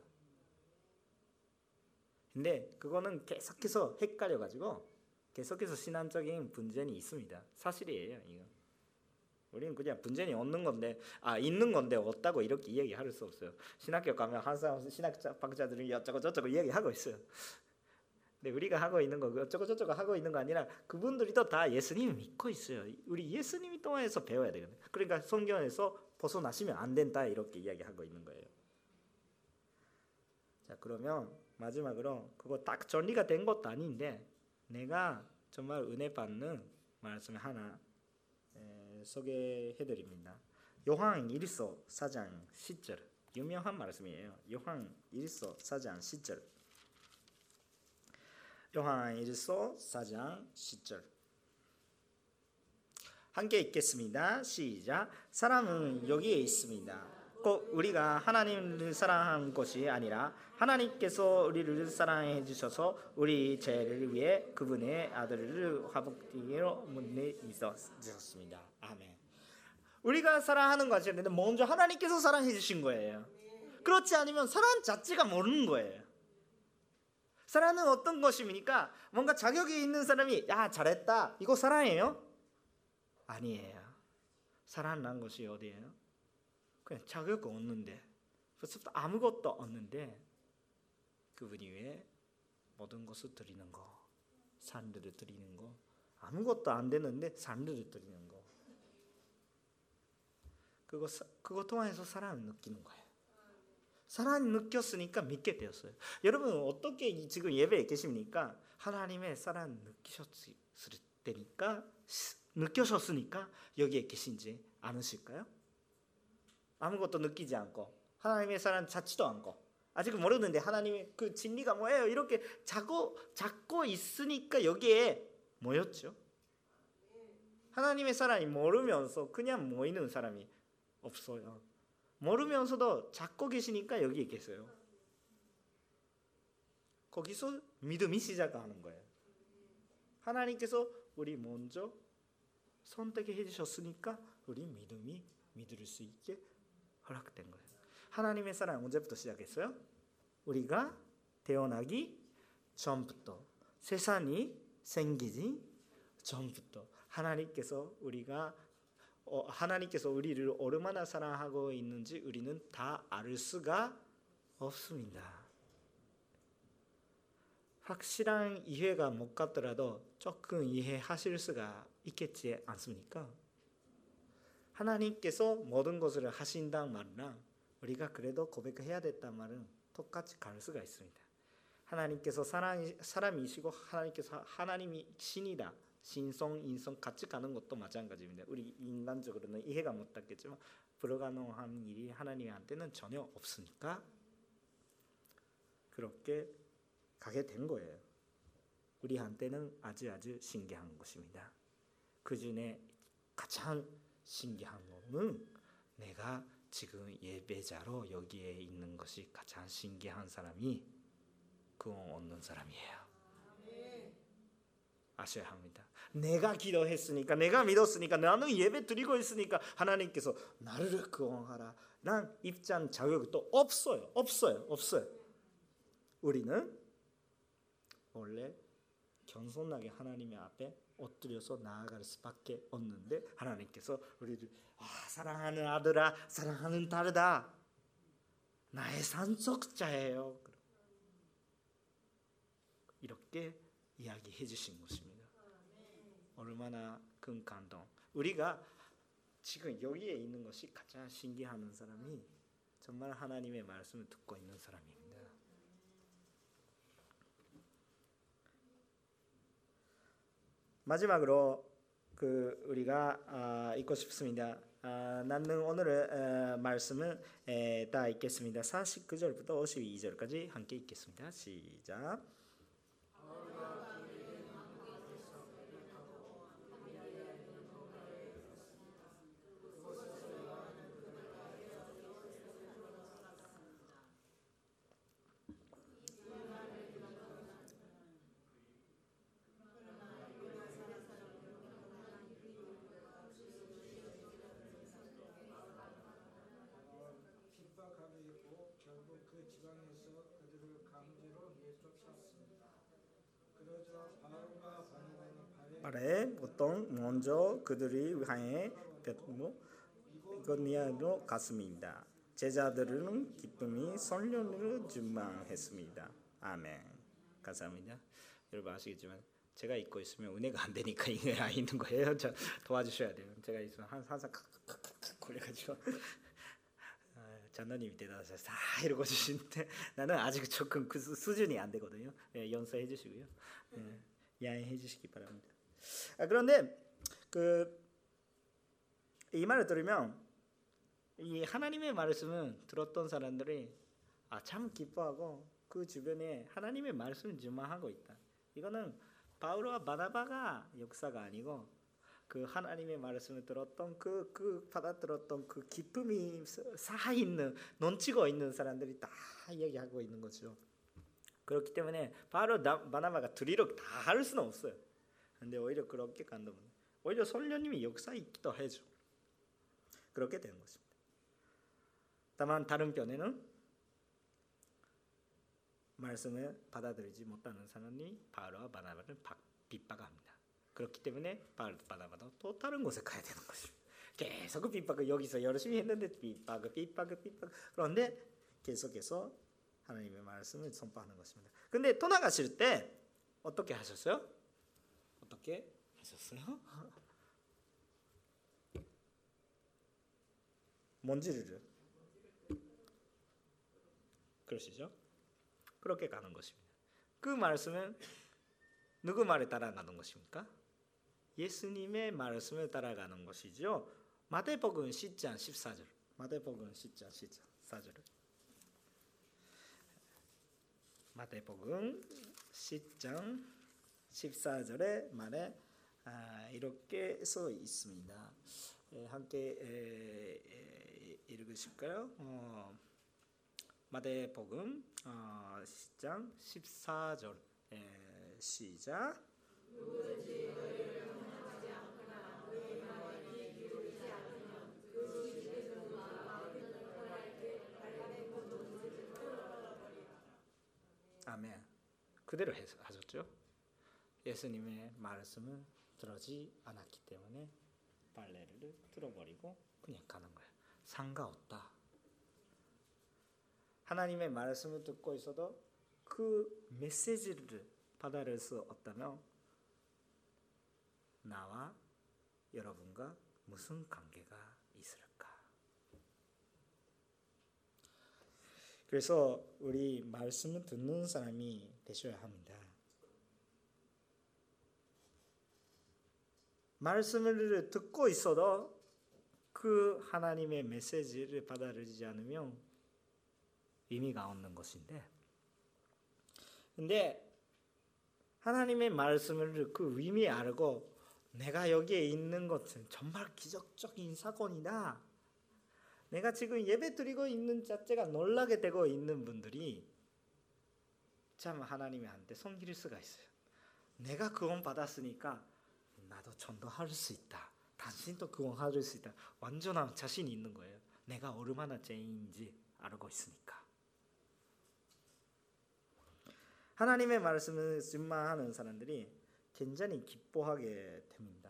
근데 그거는 계속해서 헷갈려가지고 계속해서 신앙적인 분쟁이 있습니다. 사실이에요. 이거. 우리는 그냥 분쟁이 없는 건데 있는 건데 없다고 이렇게 이야기할 수 없어요. 신학교 가면 항상 신학박자들이 어쩌고 저쩌고 이야기하고 있어요. 근데 우리가 하고 있는 거 어쩌고 저쩌고 하고 있는 거 아니라 그분들도 다 예수님을 믿고 있어요. 우리 예수님이 통해서 배워야 되거든요. 그러니까 성경에서 벗어나시면 안 된다 이렇게 이야기하고 있는 거예요. 자, 그러면 마지막으로 그거 딱 정리가 된 것도 아닌데 내가 정말 은혜 받는 말씀 하나 소개해드립니다. 요한 1서 4장 10절 유명한 말씀이에요. 요한 1서 4장 10절 요한 1서 4장 10절 함께 읽겠습니다. 시작. 사람은 여기에 있습니다. 꼭 우리가 하나님을 사랑한 것이 아니라 하나님께서 우리를 사랑해 주셔서 우리 죄를 위해 그분의 아들을 화복되기로 믿으셨습니다. 아멘. 우리가 사랑하는 것이 아닌데 먼저 하나님께서 사랑해 주신 거예요. 그렇지 않으면 사랑 자체가 모르는 거예요. 사랑은 어떤 것입니까? 뭔가 자격이 있는 사람이 야 잘했다 이거 사랑이에요? 아니에요. 사랑한 것이 어디예요? 그냥 자격 없는데 벌써부터 아무것도 없는데 그분이 왜 모든 것을 드리는 거, 산들을 드리는 거, 아무것도 안 되는데 산들을 드리는 거, 그거 통해서 사랑을 느끼는 거예요. 사랑을 느꼈으니까 믿게 되었어요. 여러분 어떻게 지금 예배에 계십니까? 하나님의 사랑을 느끼셨으니까 여기에 계신지 않으실까요? 아무것도 느끼지 않고 하나님의 사랑 찾지도 않고 아직 모르는데 하나님의 그 진리가 뭐예요? 이렇게 잡고 있으니까 여기에 모였죠. 하나님의 사랑이 모르면서 그냥 모이는 사람이 없어요. 모르면서도 잡고 계시니까 여기에 계세요. 거기서 믿음이 시작하는 거예요. 하나님께서 우리 먼저 선택해 주셨으니까 우리 믿음이 믿을 수 있게 허락된 거예요. 하나님의 사랑 언제부터 시작했어요? 우리가 태어나기 전부터, 세상이 생기지 전부터 하나님께서 우리를 얼마나 사랑하고 있는지 우리는 다 알 수가 없습니다. 확실한 이해가 못 갔더라도 조금 이해하실 수가 있겠지 않습니까? 하나님께서 모든 것을 하신다는 말이랑 우리가 그래도 고백해야 됐다는 말은 똑같이 갈 수가 있습니다. 하나님께서 사람이시고 하나님께서 하나님이 신이다. 신성, 인성 같이 가는 것도 마찬가지입니다. 우리 인간적으로는 이해가 못하겠지만 불가능한 일이 하나님한테는 전혀 없으니까 그렇게 가게 된 거예요. 우리한테는 아주 신기한 것입니다. 그 중에 가장 신기한 거는 내가 지금 예배자로 여기에 있는 것이 가장 신기한 사람이 구원 얻는 사람이에요. 아셔야 합니다. 내가 기도했으니까 내가 믿었으니까 나는 예배 드리고 있으니까 하나님께서 나를 구원하라 난 입장 자격이 또 없어요. 우리는 원래 겸손하게 하나님의 앞에 엎드려서 나아갈 수밖에 없는데 하나님께서 우리를 사랑하는 아들아 사랑하는 딸이다 나의 산속자예요 이렇게 이야기해 주신 것입니다. 얼마나 큰 감동. 우리가 지금 여기에 있는 것이 가장 신기한 사람이 정말 하나님의 말씀을 듣고 있는 사람입니다. 마지막으로 우리가 읽고 싶습니다. 나는 오늘의 말씀을 다 읽겠습니다. 49절부터 52절까지 함께 읽겠습니다. 시작. 말에 보통 먼저 그들이 향해 이거니아로 갔습니다. 제자들은 기쁨이 성령으로 충만했습니다. 아멘. 감사합니다. 여러분 아시겠지만 제가 잊고 있으면 은혜가 안 되니까 이게 안 있는 거예요. 저 도와주셔야 돼요. 제가 있으면 항상 그래가지고 장로님이 대단하셔서 다 이러고 주시는데 나는 아직 조금 그 수준이 안 되거든요. 연습해 주시고요. 양해해 주시기 바랍니다. 그런데 이 말을 들으면 이 하나님의 말씀을 들었던 사람들이 참 기뻐하고 그 주변에 하나님의 말씀을 증망하고 있다. 이거는 바울과 바나바가 역사가 아니고 그 하나님의 말씀을 들었던 받아들었던 그 기쁨이 살아있는 넘치고 있는 사람들이 다 이야기하고 있는 거죠. 그렇기 때문에 바울과 바나바가 둘이로 다 할 수는 없어요. 근데 오히려 그렇게 간다면 오히려 성령님이 역사있기도 해줘. 그렇게 되는 것입니다. 다만 다른 편에는 말씀을 받아들이지 못하는 사람이 바울과 바나바를 핍박합니다. 그렇기 때문에 바울과 바나바도 또 다른 곳에 가야 되는 것입니다. 계속 핍박을 여기서 열심히 했는데 핍박. 그런데 계속해서 하나님의 말씀을 선포하는 것입니다. 근데 떠나가실 때 어떻게 하셨어요? 먼지를 그러시죠? 그렇게 가는 것입니다. 그 말씀은 누구 말에 따라가는 것입니까? 예수님의 말씀을 따라가는 것이죠. 마태복음 10장 14절. 마태복음 10장 14절. 마태복음 10장 14절의 말에 이렇게 써 있습니다. 함께 읽으실까요? 마태복음 10장 14절 시작. 아멘. 그대로 하셨죠? 예수님의 말씀을 들어지 않았기 때문에 빨래를 틀어버리고 그냥 가는 거예요. 상관없다. 하나님의 말씀을 듣고 있어도 그 메시지를 받아들일 수 없다면 나와 여러분과 무슨 관계가 있을까? 그래서 우리 말씀을 듣는 사람이 되셔야 합니다. 말씀을 듣고 있어도 그 하나님의 메시지를 받아들이지 않으면 의미가 없는 것인데, 근데 하나님의 말씀을 그 의미 알고 내가 여기에 있는 것은 정말 기적적인 사건이다. 내가 지금 예배 드리고 있는 자체가 놀라게 되고 있는 분들이 참 하나님한테 섬길 수가 있어요. 내가 구원 받았으니까 나도 전도할 수 있다. 당신도 구원할 수 있다. 완전한 자신이 있는 거예요. 내가 얼마나 죄인인지 알고 있으니까. 하나님의 말씀을 증망하는 사람들이 굉장히 기뻐하게 됩니다.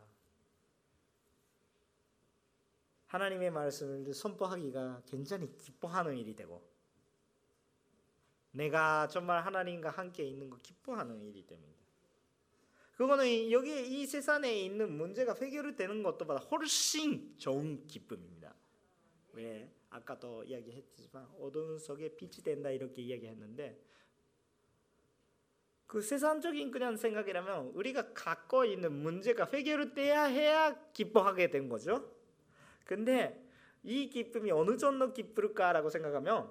하나님의 말씀을 선포하기가 굉장히 기뻐하는 일이 되고, 내가 정말 하나님과 함께 있는 거 기뻐하는 일이 됩니다. 그거는 여기 이 세상에 있는 문제가 해결되는 것보다 훨씬 좋은 기쁨입니다. 왜? 아까도 이야기했지만 어두운 속에 빛이 된다 이렇게 이야기했는데, 그 세상적인 그냥 생각이라면 우리가 갖고 있는 문제가 해결돼야 해야 기뻐하게 된 거죠. 근데 이 기쁨이 어느 정도 기쁠까라고 생각하면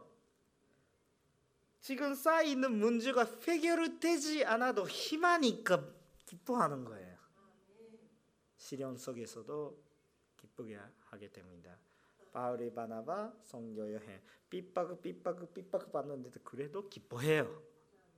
지금 쌓여있는 문제가 해결되지 않아도 희망이니까 기뻐하는 거예요. 시련 속에서도 기쁘게 하게 됩니다. 바울이 바나바 선교 여행 핍박 받는데도 그래도 기뻐해요.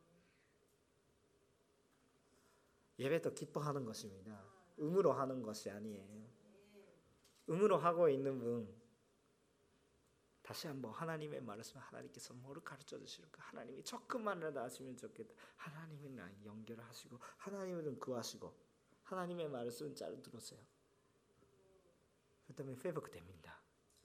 예배도 기뻐하는 것입니다. 의무로 하는 것이 아니에요. 의무로 하고 있는 분 다시 한번 하나님의 말씀, 하나님께서 뭐를 가르쳐 주실까? 하나님이 조금만이라도 아시면 좋겠다. 하나님이랑 연결하시고 하나님을 구하시고 하나님의 말씀 잘 들으세요. 그다음에 회복됩니다.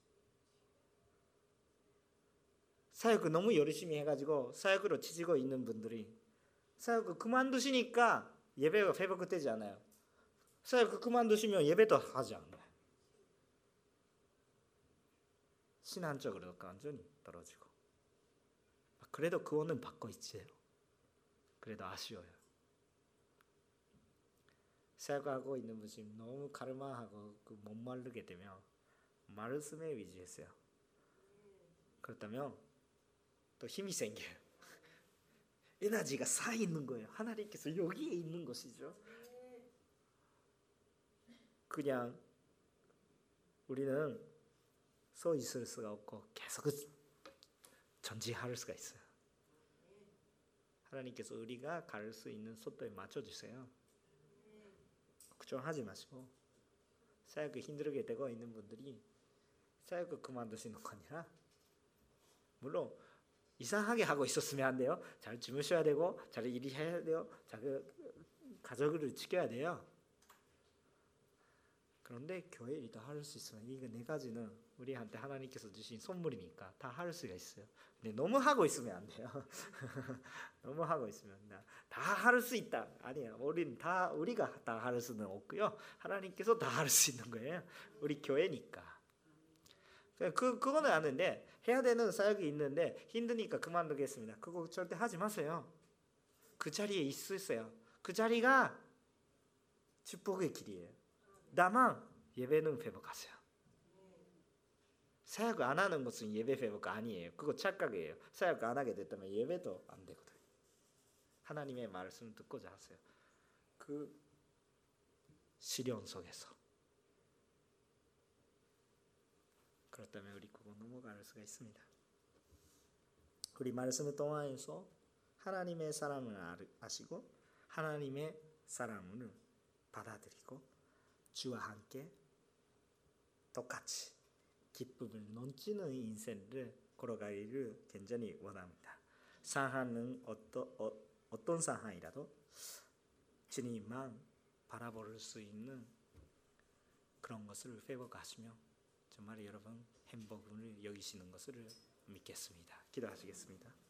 사역을 너무 열심히 해가지고 사역으로 치지고 있는 분들이 사역을 그만두시니까 예배가 회복되지 않아요. 사역을 그만두시면 예배도 하지 않아요. 신앙적으로 완전히 떨어지고. 그래도 구원은 받고 있지요. 그래도 아쉬워요. 사역하고 있는 분이 너무 가르마하고 못 마르게 되면 말씀에 위주했어요. 그렇다면 또 힘이 생겨요. 에너지가 쌓이는 거예요. 하나님께서 여기에 있는 것이죠. 그냥 우리는 서 있을 수가 없고 계속 전진할 수가 있어요. 하나님께서 우리가 갈 수 있는 속도에 맞춰주세요. 걱정하지 마시고 사역을 힘들게 되고 있는 분들이 사역을 그만두시는 거 아니라 물론 이상하게 하고 있었으면 안 돼요. 잘 주무셔야 되고 잘 일해야 돼요. 잘 가족을 지켜야 돼요. 그런데 교회 일도 할 수 있으면 이거 네 가지는 우리한테 하나님께서 주신 선물이니까 다 할 수가 있어요. 근데 너무 하고 있으면 안 돼요. 너무 하고 있으면 다 할 수 있다. 아니에요. 우리가 다 할 수는 없고요. 하나님께서 다 할 수 있는 거예요. 우리 교회니까. 그거는 아는데 해야 되는 사역이 있는데 힘드니까 그만두겠습니다. 그거 절대 하지 마세요. 그 자리에 있으세요. 그 자리가 축복의 길이에요. 다만 예배는 회복하세요. 사역을 안 하는 것은 예배 회복 아니에요. 그거 착각이에요. 사역을 안 하게 됐다면 예배도 안 되거든요. 하나님의 말씀을 듣고자 하세요. 그 시련 속에서. 그렇다면 우리 그거 넘어갈 수가 있습니다. 우리 말씀을 통하여서 하나님의 사랑을 아시고 하나님의 사랑을 받아들이고 주와 함께 똑같이 기쁨을 넘치는 인생을 걸어가기를 굉장히 원합니다. 상황은 어떤 상황이라도 주님만 바라볼 수 있는 그런 것을 회복하시며 정말 여러분 행복을 여기시는 것을 믿겠습니다. 기도하시겠습니다.